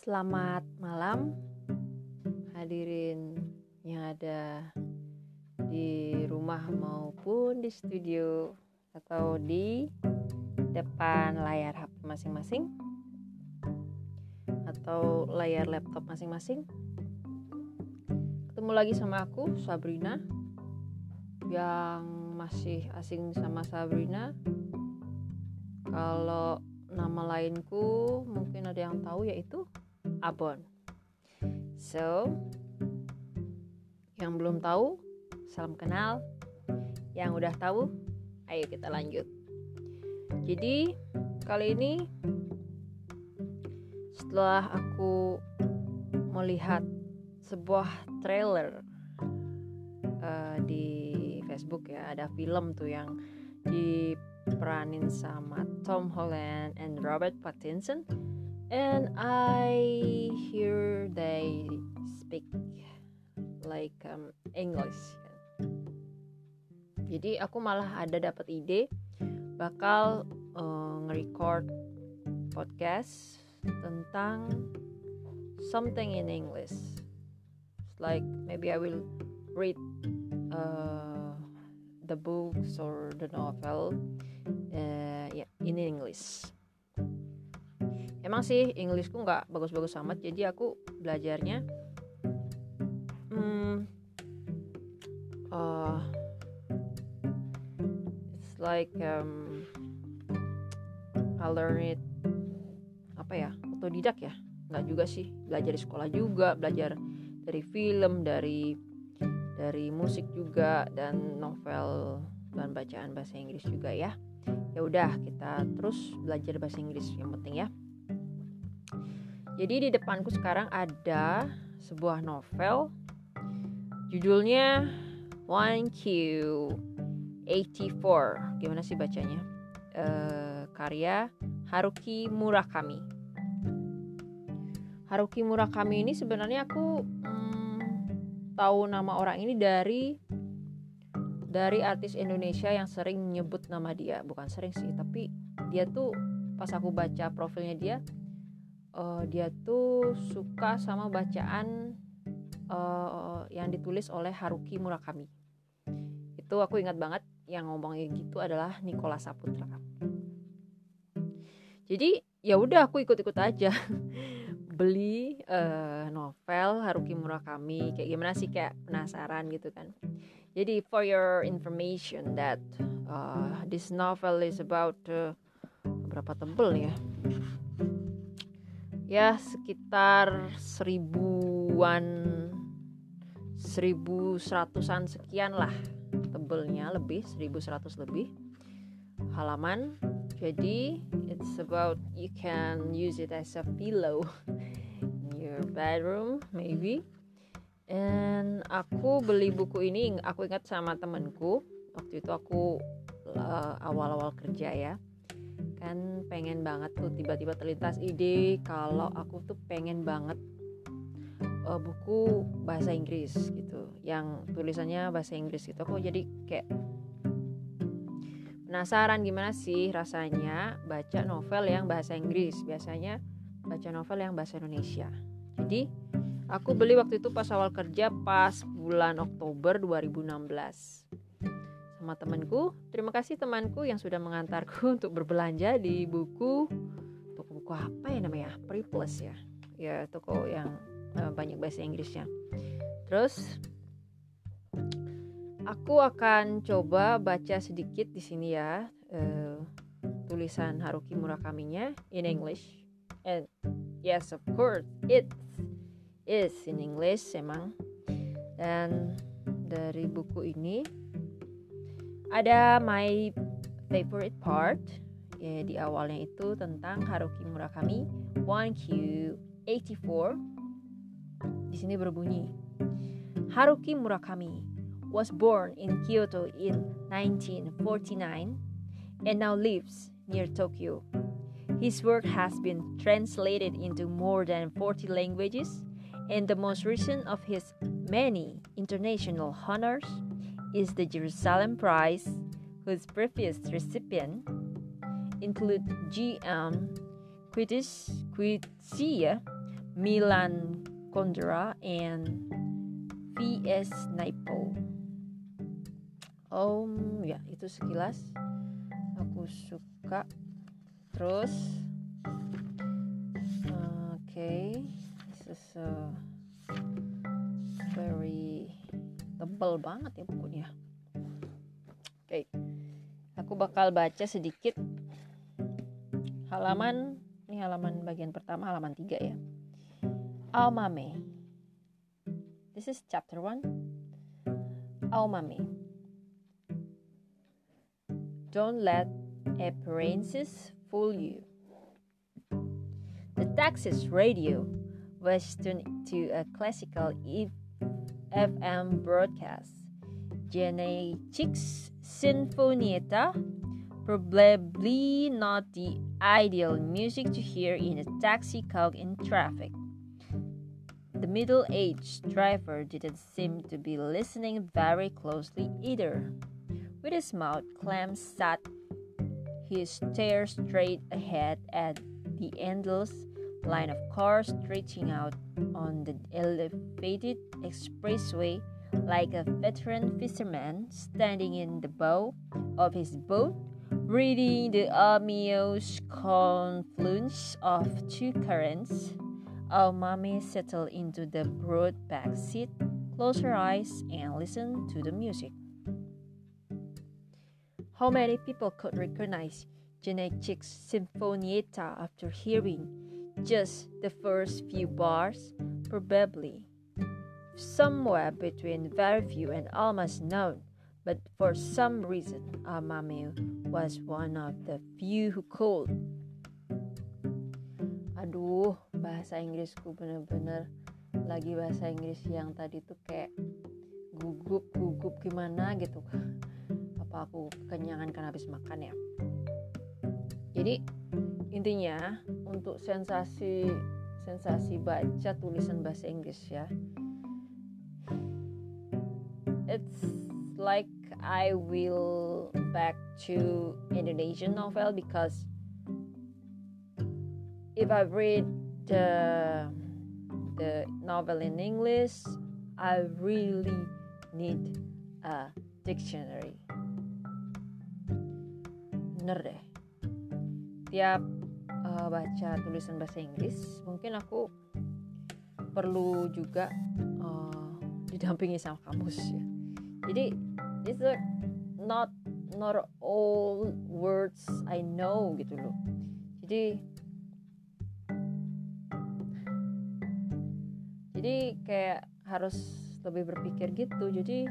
Selamat malam hadirin yang ada di rumah maupun di studio atau di depan layar HP masing-masing atau layar laptop masing-masing. Ketemu lagi sama aku, Sabrina. Yang masih asing sama Sabrina, kalau nama lainku mungkin ada yang tahu, yaitu Abon. So, yang belum tahu, salam kenal. Yang udah tahu, ayo kita lanjut. Jadi, kali ini setelah aku melihat sebuah trailer di Facebook ya, ada film tuh yang diperanin sama Tom Holland and Robert Pattinson. And I hear they speak like English. Jadi aku malah ada dapat ide bakal nge-record podcast tentang something in English. It's like maybe I will read the books or the novel in English. Emang sih Englishku nggak bagus-bagus amat, jadi aku belajarnya it's like I learn it otodidak ya, nggak juga sih, belajar di sekolah juga, belajar dari film, dari musik juga, dan novel dan bacaan bahasa Inggris juga ya. Ya udah, kita terus belajar bahasa Inggris yang penting ya. Jadi di depanku sekarang ada sebuah novel, judulnya 1Q84. Gimana sih bacanya? Karya Haruki Murakami. Haruki Murakami ini sebenarnya aku tahu nama orang ini dari artis Indonesia yang sering nyebut nama dia. Bukan sering sih, tapi dia tuh pas aku baca profilnya dia tuh suka sama bacaan yang ditulis oleh Haruki Murakami. Itu aku ingat banget, yang ngomongnya gitu adalah Nicholas Saputra. Jadi ya udah, aku ikut-ikut aja beli novel Haruki Murakami. Kayak gimana sih, kayak penasaran gitu kan. Jadi for your information that this novel is about berapa tebel ya? Ya sekitar 1100-an sekian lah tebelnya, lebih 1100 lebih halaman. Jadi it's about, you can use it as a pillow in your bedroom maybe. And aku beli buku ini, aku ingat sama temanku. Waktu itu aku awal-awal kerja ya, kan pengen banget tuh, tiba-tiba terlintas ide kalau aku tuh pengen banget buku bahasa Inggris gitu, yang tulisannya bahasa Inggris gitu. Aku jadi kayak penasaran gimana sih rasanya baca novel yang bahasa Inggris. Biasanya baca novel yang bahasa Indonesia. Jadi aku beli waktu itu pas awal kerja, pas bulan Oktober 2016 sama temanku. Terima kasih temanku yang sudah mengantarku untuk berbelanja di toko buku apa ya namanya, Priplus ya. Ya, toko yang banyak bahasa Inggrisnya. Terus aku akan coba baca sedikit di sini ya, tulisan Haruki Murakaminya in English. And yes, of course it is in English emang. Dan dari buku ini ada my favorite part ya, di awalnya itu tentang Haruki Murakami 1Q84. Di sini berbunyi, Haruki Murakami was born in Kyoto in 1949 and now lives near Tokyo. His work has been translated into more than 40 languages, and the most recent of his many international honors is the Jerusalem Prize, whose previous recipient include G.M. Qutzi, Milan Kundera, and V.S. Naipaul. Ya itu sekilas aku suka. Terus this is very tebal banget ya bukunya. Aku bakal baca sedikit halaman bagian pertama, halaman 3 ya. Aomame. This is chapter 1. Aomame. Don't let appearances fool you. The Texas radio was tuned to a classical FM broadcast. Janeček's Sinfonietta, probably not the ideal music to hear in a taxi caught in traffic. The middle-aged driver didn't seem to be listening very closely either. With his mouth clamped shut, he stared straight ahead at the endless line of cars stretching out on the elevated expressway like a veteran fisherman standing in the bow of his boat, reading the ominous confluence of two currents. Aomame settled into the broad back seat, closed her eyes, and listened to the music. How many people could recognize Janeček's Sinfonietta after hearing just the first few bars? Probably. Somewhere between very few and almost none, but for some reason, Aomame was one of the few who could. Aduh, bahasa Inggrisku bener-bener lagi bahasa Inggris yang tadi tuh kayak gugup gimana gitu. Apa aku kenyangan karena habis makan ya? Jadi intinya untuk sensasi baca tulisan bahasa Inggris ya, it's like I will back to Indonesian novel, because if I read the novel in English, I really need a dictionary. Bener deh, tiap baca tulisan bahasa Inggris mungkin aku perlu juga didampingi sama kamus ya. Jadi it's not all words I know gitu loh. Jadi kayak harus lebih berpikir gitu. Jadi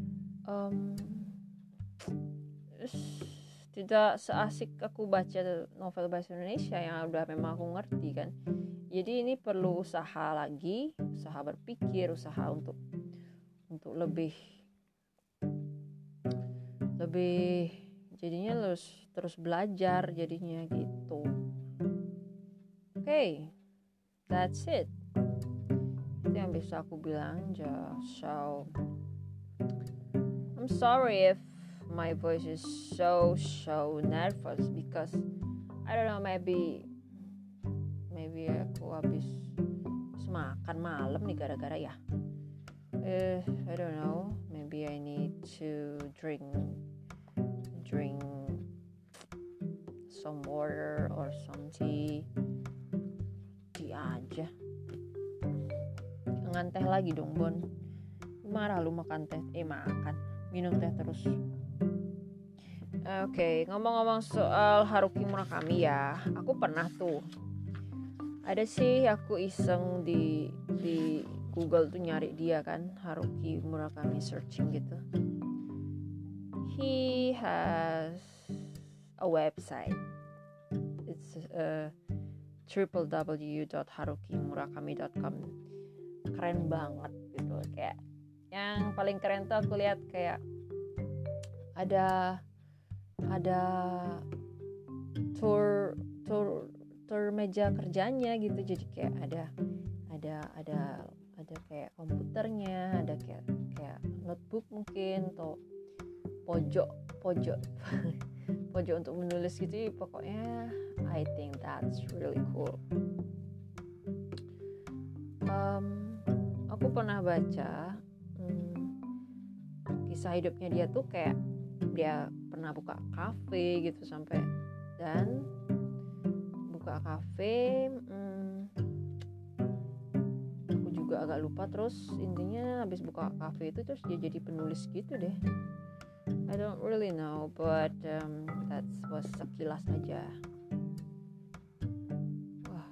tidak seasik aku baca novel bahasa Indonesia yang udah memang aku ngerti kan. Jadi ini perlu usaha lagi, usaha berpikir, usaha untuk lebih jadinya terus belajar jadinya gitu. Okay, that's it. Itu yang bisa aku bilang. So I'm sorry if my voice is so nervous, because I don't know, maybe aku habis makan malam nih gara-gara ya. I don't know, maybe I need to drink some water or some tea aja. Jangan teh lagi dong, Bon. Marah lu makan minum teh terus. Oke, ngomong-ngomong soal Haruki Murakami ya, aku pernah tuh ada sih aku iseng di Google tuh nyari dia kan, Haruki Murakami, searching gitu. He has a website. It's www.harukimurakami.com. Keren banget gitu, kayak yang paling keren tuh aku lihat kayak ada tour meja kerjanya gitu. Jadi kayak ada kayak komputernya, ada kayak notebook mungkin, atau pojok untuk menulis gitu. Pokoknya I think that's really cool. Aku pernah baca kisah hidupnya dia tuh kayak dia pernah buka kafe gitu sampai dan buka kafe. Aku juga agak lupa, terus intinya habis buka kafe itu terus dia jadi penulis gitu deh. I don't really know, but that was sekilas aja. Wah,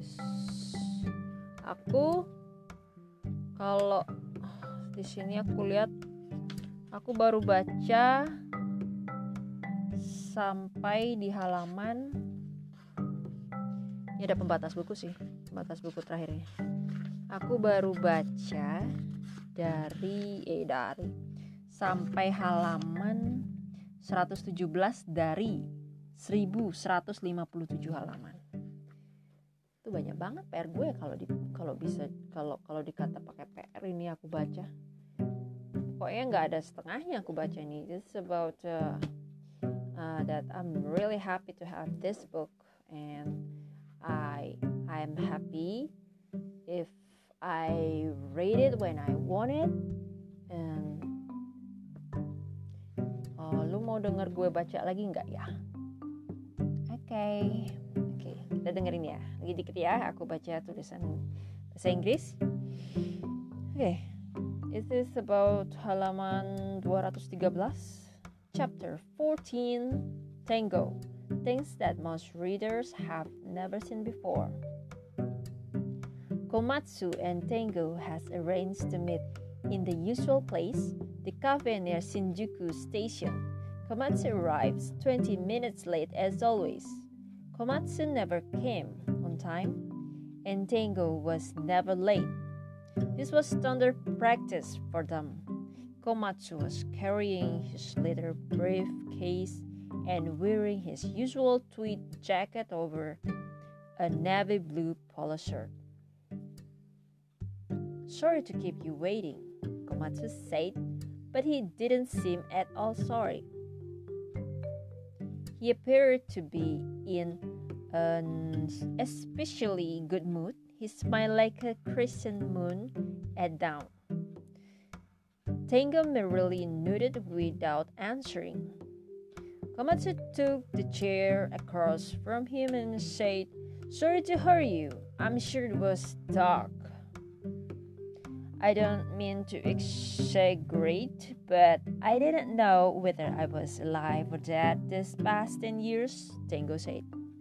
aku kalau di sini aku lihat aku baru baca sampai di halaman, ini ada pembatas buku terakhirnya. Aku baru baca dari sampai halaman 117 dari 1157 halaman. Itu banyak banget PR gue kalau dikata pakai PR ini aku baca. Pokoknya nggak ada setengahnya aku baca ini. It's about that I'm really happy to have this book, and I'm happy if I read it when I want it. And lu mau denger gue baca lagi nggak ya? Oke, kita dengerin ya. Lagi dikit ya, aku baca tulisan bahasa Inggris. Oke. It is about halaman 213, chapter 14, Tango, things that most readers have never seen before. Komatsu and Tango has arranged to meet in the usual place, the cafe near Shinjuku Station. Komatsu arrives 20 minutes late as always. Komatsu never came on time, and Tango was never late. This was standard practice for them. Komatsu was carrying his leather briefcase and wearing his usual tweed jacket over a navy blue polo shirt. "Sorry to keep you waiting," Komatsu said, but he didn't seem at all sorry. He appeared to be in an especially good mood. He smiled like a crescent moon at dawn. Tango merely nodded without answering. Komatsu took the chair across from him and said, "Sorry to hurry you. I'm sure it was dark. I don't mean to exaggerate, but I didn't know whether I was alive or dead this past 10 years, Tango said.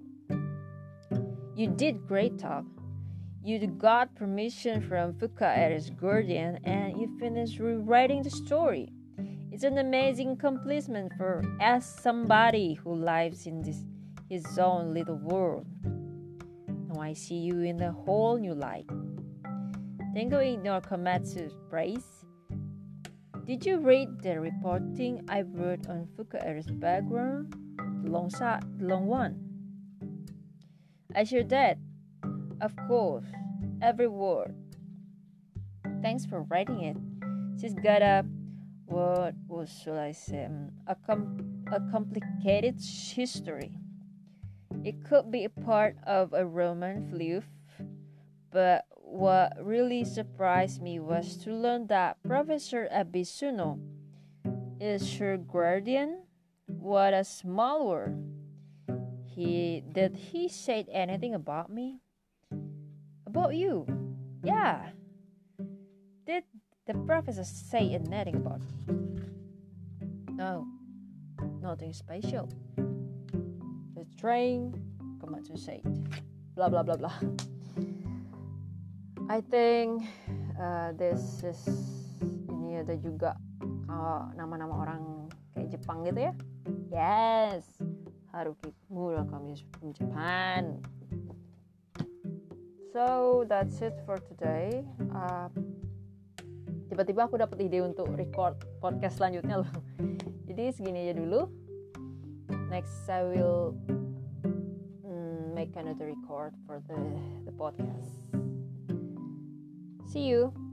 You did great, Talk. You got permission from Fukaera's guardian and you finished rewriting the story. It's an amazing accomplishment for somebody who lives in his own little world. Now I see you in a whole new light." Tango ignored Komatsu's praise. "Did you read the reporting I wrote on Fukaera's background? The long one?" "I sure did. Of course, every word. Thanks for writing it. She's got a complicated history. It could be a part of a Roman fleuve, but what really surprised me was to learn that Professor Abisuno is her guardian. What a small world. Did he say anything about me?" "About you? Yeah. Did the professor say anything about me?" "No, nothing special. The train," Komatsu said. Blah blah blah blah. I think this is, ini ada juga nama-nama orang kayak Jepang gitu ya. Yes, Haruki Murakami is from Japan. So that's it for today. Tiba-tiba aku dapat ide untuk record podcast selanjutnya loh. Jadi segini aja dulu. Next I will make another record for the podcast. See you.